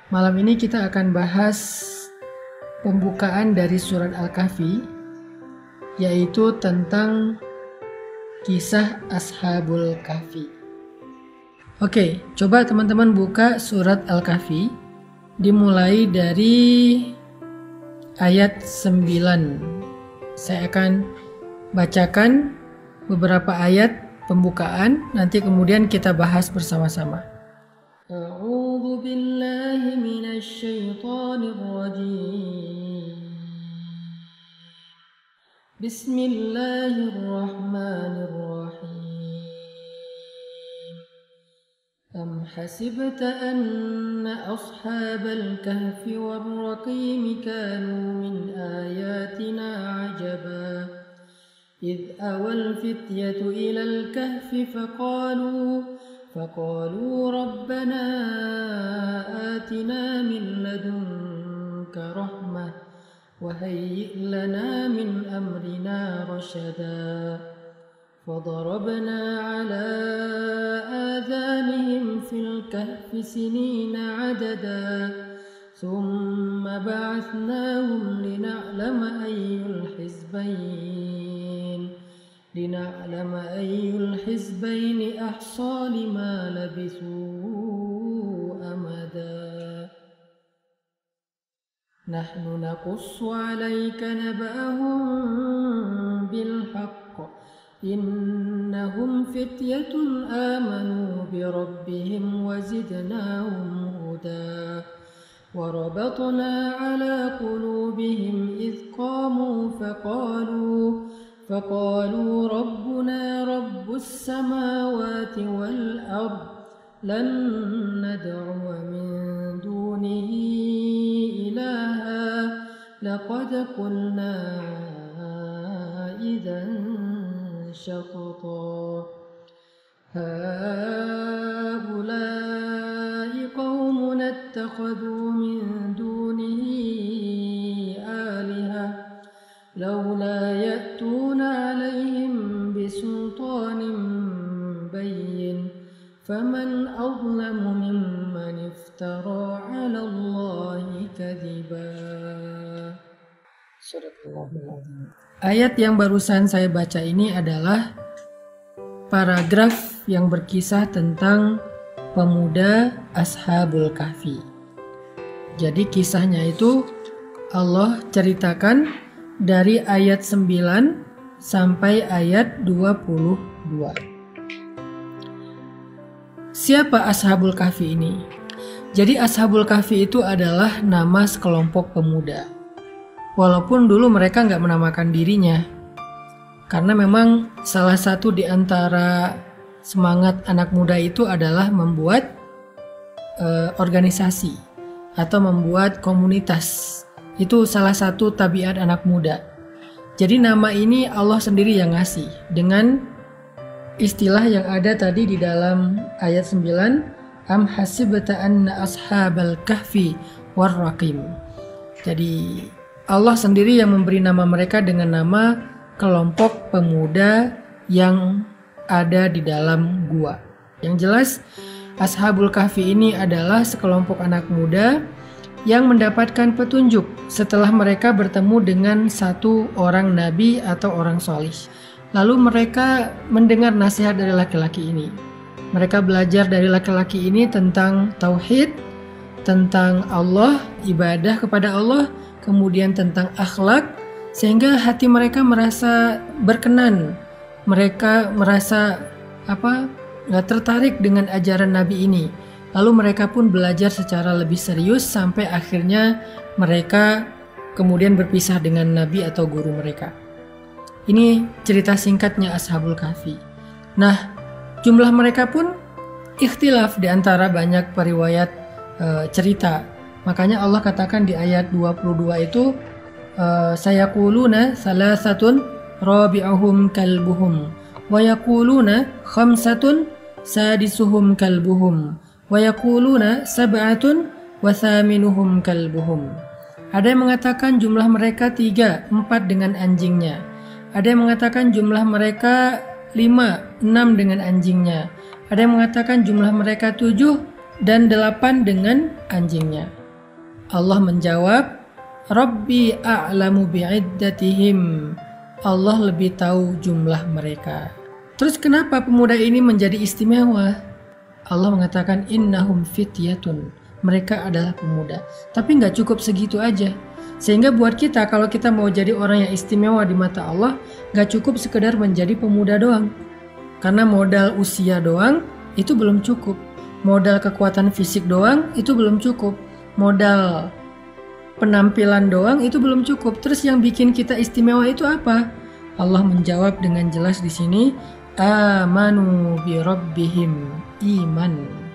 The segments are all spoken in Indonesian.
Malam ini kita akan bahas pembukaan dari surat Al-Kahfi, yaitu tentang kisah Ashabul Kahfi. Oke, coba teman-teman buka surat Al-Kahfi, dimulai dari ayat 9. Saya akan bacakan beberapa ayat pembukaan, nanti kemudian kita bahas bersama-sama. A'udzu billahi minasy syaithanir rajim. Bismillahirrahmanirrahim. Am hasibta anna ashabal kahfi war raqim kanu min ayatina ajaba. إذ أوى الفتية إلى الكهف فقالوا ربنا آتنا من لدنك رحمة وهيئ لنا من أمرنا رشدا فضربنا على آذانهم في الكهف سنين عددا ثم بعثناهم لنعلم أي الحزبين أحصى لما لبثوا أمدا نحن نقص عليك نبأهم بالحق إنهم فتية آمنوا بربهم وزدناهم هدى وربطنا على قلوبهم إذ قاموا فقالوا ربنا رب السماوات والأرض لن ندعو من دونه إلها لقد قلنا إذا شططا هؤلاء قوم اتخذوا من دونه آلهة لولا يأتون عليهم بسلطان بين فمن أظلم ممن افترى على الله كذبا. Ayat yang barusan saya baca ini adalah paragraf yang berkisah tentang pemuda Ashabul Kahfi. Jadi kisahnya itu Allah ceritakan dari ayat 9 sampai ayat 22. Siapa Ashabul Kahfi ini? Jadi Ashabul Kahfi itu adalah nama sekelompok pemuda. Walaupun dulu mereka nggak menamakan dirinya. Karena memang salah satu di antara semangat anak muda itu adalah membuat organisasi atau membuat komunitas. Itu salah satu tabiat anak muda. Jadi nama ini Allah sendiri yang ngasih dengan istilah yang ada tadi di dalam ayat 9, am hasibta anna ashabal kahfi war raqim. Jadi Allah sendiri yang memberi nama mereka dengan nama kelompok pemuda yang ada di dalam gua. Yang jelas Ashabul Kahfi ini adalah sekelompok anak muda yang mendapatkan petunjuk setelah mereka bertemu dengan satu orang nabi atau orang solih. Lalu mereka mendengar nasihat dari laki-laki ini. Mereka belajar dari laki-laki ini tentang tauhid, tentang Allah, ibadah kepada Allah, kemudian tentang akhlak, sehingga hati mereka merasa berkenan. Mereka merasa tertarik dengan ajaran Nabi ini. Lalu mereka pun belajar secara lebih serius sampai akhirnya mereka kemudian berpisah dengan Nabi atau guru mereka. Ini cerita singkatnya Ashabul Kahfi. Nah, jumlah mereka pun ikhtilaf di antara banyak periwayat cerita. Makanya Allah katakan di ayat 22 itu sayaquluna salasatun rabi'uhum kalbuhum wa yaquluna khamsatun sadisuhum kalbuhum wa yaquluna sab'atun wa thaminuhum kalbuhum. Ada yang mengatakan jumlah mereka 3, 4 dengan anjingnya. Ada yang mengatakan jumlah mereka 5, 6 dengan anjingnya. Ada yang mengatakan jumlah mereka 7, dan 8 dengan anjingnya. Allah menjawab, Rabbi a'lamu bi'iddatihim. Allah lebih tahu jumlah mereka. Terus kenapa pemuda ini menjadi istimewa? Allah mengatakan innahum fityatun. Mereka adalah pemuda. Tapi nggak cukup segitu aja. Sehingga buat kita, kalau kita mau jadi orang yang istimewa di mata Allah, nggak cukup sekedar menjadi pemuda doang. Karena modal usia doang itu belum cukup. Modal kekuatan fisik doang itu belum cukup. Modal penampilan doang itu belum cukup. Terus yang bikin kita istimewa itu apa? Allah menjawab dengan jelas di sini, amanu bi rabbihim, iman.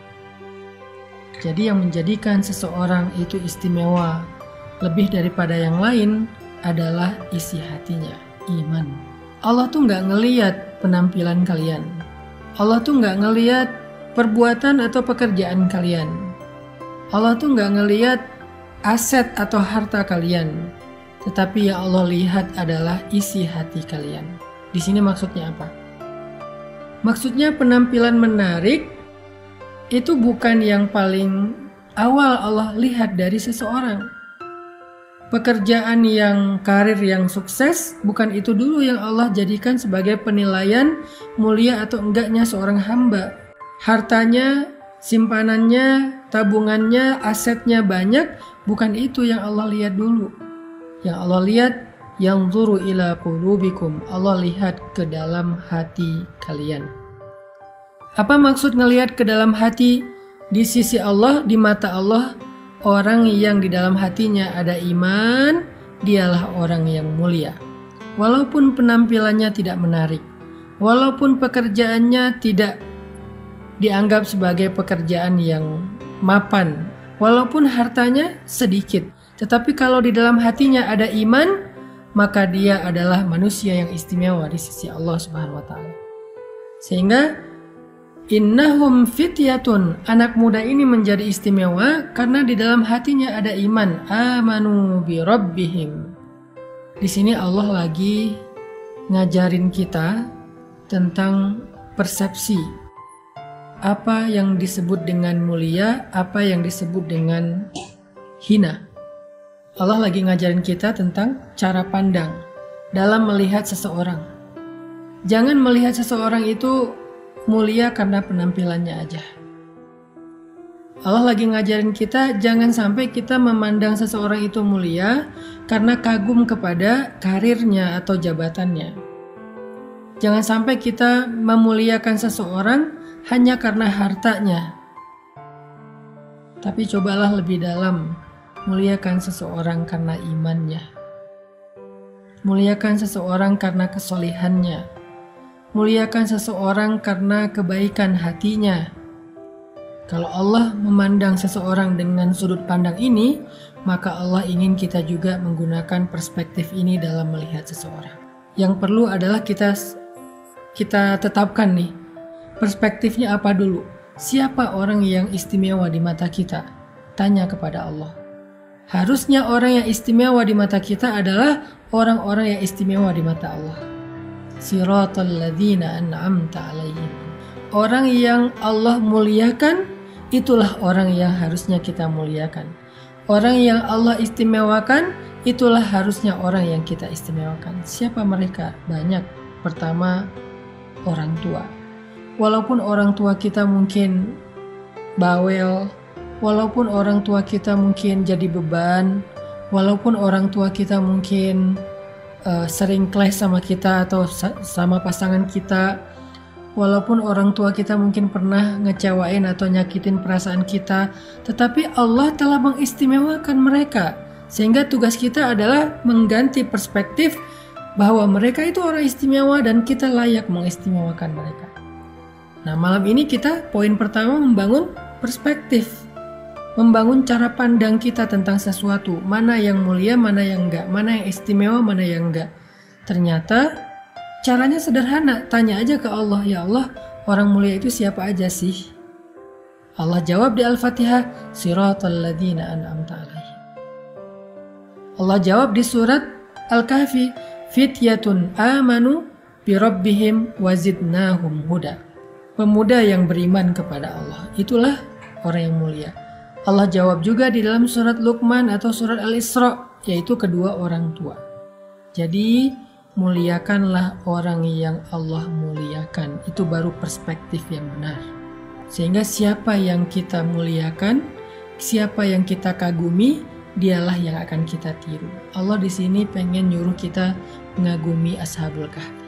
Jadi yang menjadikan seseorang itu istimewa lebih daripada yang lain adalah isi hatinya, iman. Allah tuh nggak ngelihat penampilan kalian. Allah tuh nggak ngelihat perbuatan atau pekerjaan kalian. Allah tuh nggak ngelihat aset atau harta kalian, tetapi yang Allah lihat adalah isi hati kalian. Di sini maksudnya apa? Maksudnya penampilan menarik itu bukan yang paling awal Allah lihat dari seseorang. Pekerjaan yang karir yang sukses bukan itu dulu yang Allah jadikan sebagai penilaian mulia atau enggaknya seorang hamba. Hartanya, simpanannya, tabungannya, asetnya banyak, bukan itu yang Allah lihat dulu. Yang Allah lihat, yanzuru ila qulubikum. Allah lihat ke dalam hati kalian. Apa maksud ngelihat ke dalam hati? Di sisi Allah, di mata Allah, orang yang di dalam hatinya ada iman, dialah orang yang mulia. Walaupun penampilannya tidak menarik, walaupun pekerjaannya tidak dianggap sebagai pekerjaan yang mapan, walaupun hartanya sedikit, tetapi kalau di dalam hatinya ada iman, maka dia adalah manusia yang istimewa di sisi Allah Subhanahu wa taala. Sehingga innahum fityatun, anak muda ini menjadi istimewa karena di dalam hatinya ada iman, amanu bi rabbihim. Di sini Allah lagi ngajarin kita tentang persepsi. Apa yang disebut dengan mulia, apa yang disebut dengan hina. Allah lagi ngajarin kita tentang cara pandang dalam melihat seseorang. Jangan melihat seseorang itu mulia karena penampilannya aja. Allah lagi ngajarin kita jangan sampai kita memandang seseorang itu mulia karena kagum kepada karirnya atau jabatannya. Jangan sampai kita memuliakan seseorang hanya karena hartanya. Tapi cobalah lebih dalam, muliakan seseorang karena imannya. Muliakan seseorang karena kesolihannya. Muliakan seseorang karena kebaikan hatinya. Kalau Allah memandang seseorang dengan sudut pandang ini, maka Allah ingin kita juga menggunakan perspektif ini dalam melihat seseorang. Yang perlu adalah kita tetapkan nih, perspektifnya apa dulu? Siapa orang yang istimewa di mata kita? Tanya kepada Allah. Harusnya orang yang istimewa di mata kita adalah orang-orang yang istimewa di mata Allah. Siratal ladzina an'amta alaihim. Orang yang Allah muliakan, itulah orang yang harusnya kita muliakan. Orang yang Allah istimewakan, itulah harusnya orang yang kita istimewakan. Siapa mereka? Banyak. Pertama, orang tua. Walaupun orang tua kita mungkin bawel, walaupun orang tua kita mungkin jadi beban, walaupun orang tua kita mungkin sering clash sama kita atau sama pasangan kita, walaupun orang tua kita mungkin pernah ngecewain atau nyakitin perasaan kita, tetapi Allah telah mengistimewakan mereka. Sehingga tugas kita adalah mengganti perspektif bahwa mereka itu orang istimewa dan kita layak mengistimewakan mereka. Nah, malam ini kita poin pertama membangun perspektif, membangun cara pandang kita tentang sesuatu, mana yang mulia, mana yang enggak, mana yang istimewa, mana yang enggak. Ternyata caranya sederhana, tanya aja ke Allah, ya Allah, orang mulia itu siapa aja sih? Allah jawab di Al-Fatihah, Siratal ladzina an'amta alaihim. Allah jawab di surat Al-Kahfi, Fityatun amanu bi rabbihim wazidnahum huda. Pemuda yang beriman kepada Allah, itulah orang yang mulia. Allah jawab juga di dalam surat Luqman atau surat Al-Isra, yaitu kedua orang tua. Jadi muliakanlah orang yang Allah muliakan. Itu baru perspektif yang benar. Sehingga siapa yang kita muliakan, siapa yang kita kagumi, dialah yang akan kita tiru. Allah di sini pengen nyuruh kita mengagumi Ashabul Kahfi.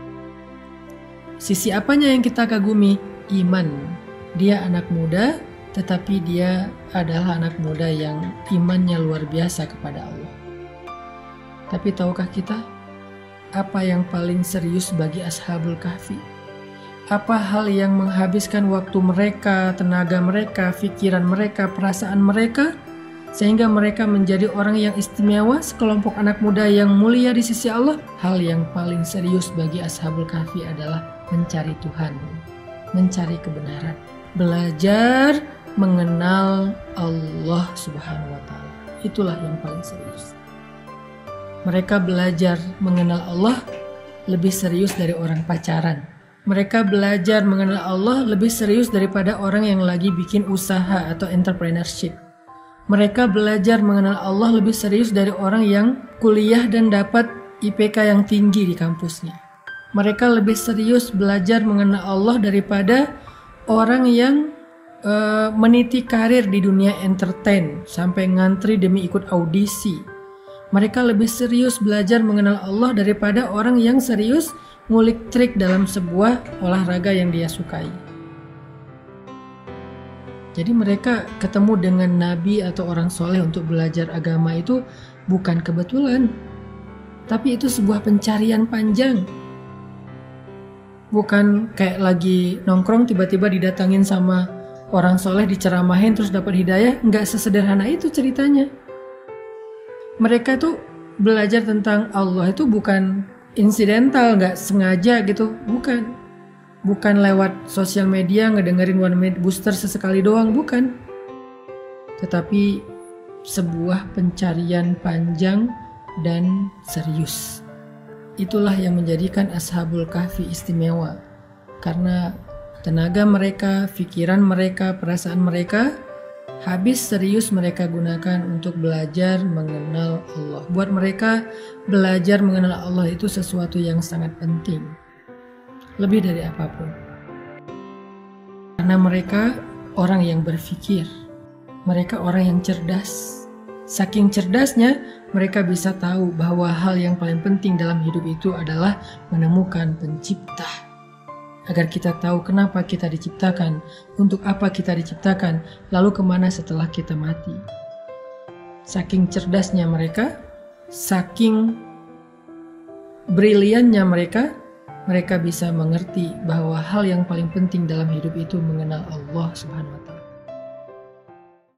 Sisi apanya yang kita kagumi? Iman. Dia anak muda, tetapi dia adalah anak muda yang imannya luar biasa kepada Allah. Tapi tahukah kita apa yang paling serius bagi Ashabul Kahfi? Apa hal yang menghabiskan waktu mereka, tenaga mereka, pikiran mereka, perasaan mereka, sehingga mereka menjadi orang yang istimewa, sekelompok anak muda yang mulia di sisi Allah? Hal yang paling serius bagi Ashabul Kahfi adalah mencari Tuhan, mencari kebenaran, belajar mengenal Allah Subhanahu wa Ta'ala. Itulah yang paling serius. Mereka belajar mengenal Allah lebih serius dari orang pacaran. Mereka belajar mengenal Allah lebih serius daripada orang yang lagi bikin usaha atau entrepreneurship. Mereka belajar mengenal Allah lebih serius dari orang yang kuliah dan dapat IPK yang tinggi di kampusnya. Mereka lebih serius belajar mengenal Allah daripada orang yang meniti karir di dunia entertain sampai ngantri demi ikut audisi. Mereka lebih serius belajar mengenal Allah daripada orang yang serius ngulik trik dalam sebuah olahraga yang dia sukai. Jadi mereka ketemu dengan nabi atau orang soleh untuk belajar agama itu bukan kebetulan, tapi itu sebuah pencarian panjang. Bukan kayak lagi nongkrong tiba-tiba didatangin sama orang soleh, diceramahin terus dapat hidayah. Nggak sesederhana itu ceritanya. Mereka tuh belajar tentang Allah itu bukan insidental, nggak sengaja gitu, bukan. Bukan lewat sosial media ngedengerin One Minute Booster sesekali doang, bukan. Tetapi sebuah pencarian panjang dan serius. Itulah yang menjadikan Ashabul Kahfi istimewa. Karena tenaga mereka, pikiran mereka, perasaan mereka habis serius mereka gunakan untuk belajar mengenal Allah. Buat mereka, belajar mengenal Allah itu sesuatu yang sangat penting. Lebih dari apapun. Karena mereka orang yang berpikir. Mereka orang yang cerdas. Saking cerdasnya, mereka bisa tahu bahwa hal yang paling penting dalam hidup itu adalah menemukan pencipta. Agar kita tahu kenapa kita diciptakan, untuk apa kita diciptakan, lalu kemana setelah kita mati. Saking cerdasnya mereka, saking briliannya mereka bisa mengerti bahwa hal yang paling penting dalam hidup itu mengenal Allah Subhanahu wa Ta'ala.